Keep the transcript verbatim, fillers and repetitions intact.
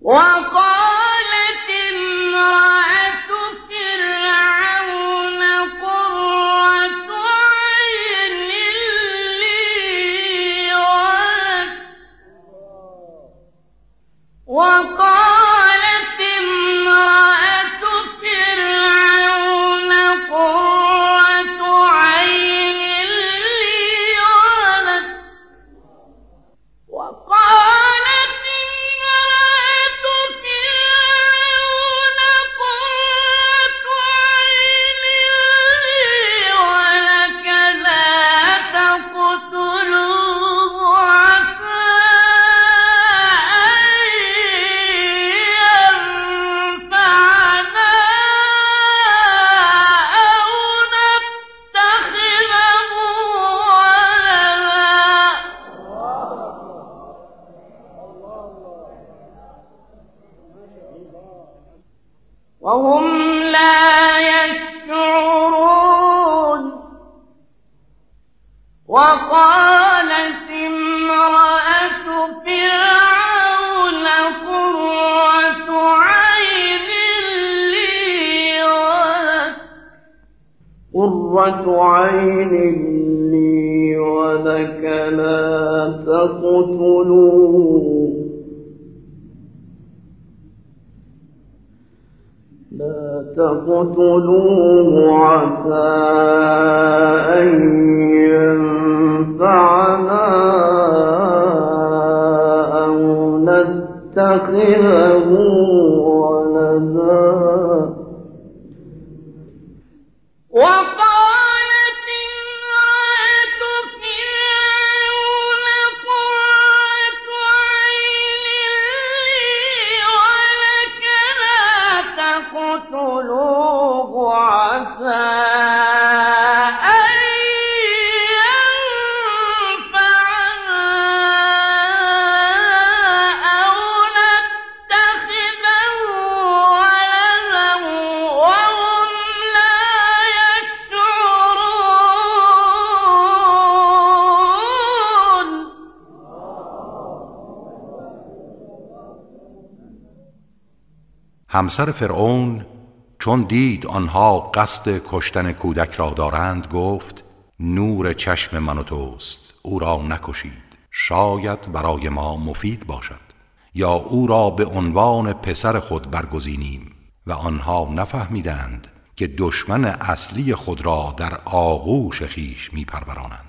وقالت امرأة فرعون قرة عين لي ولك وقالت امرأة فرعون قرة عين لي ولك وقالت امرأة فرعون قرة عين لي ولك لا تقتلوه عسى أن ينفعنا أو نتخذه ولدا وهم لا يشعرون. وقالت امرأة فرعون قرة عين لي ولك قرة عين لي ولك لا تقتلوه لا تقتلوه عسى أن ينفعنا أو نتخذه ولدا. وقالت امرأة فرعون قرة عين لي ولك لا تقتلوه عسى أن ينفعنا أو نتخذه ولدا وهم لا يشعرون. همسر فرعون چون دید آنها قصد کشتن کودک را دارند گفت نور چشم من و توست، او را نکشید، شاید برای ما مفید باشد، یا او را به عنوان پسر خود برگزینیم. و آنها نفهمیدند که دشمن اصلی خود را در آغوش خیش می پرورانند.